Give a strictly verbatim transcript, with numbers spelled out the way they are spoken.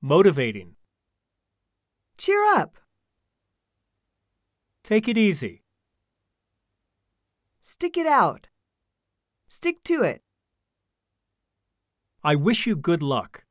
Motivating. Cheer up. Take it easy. Stick it out. Stick to it. I wish you good luck.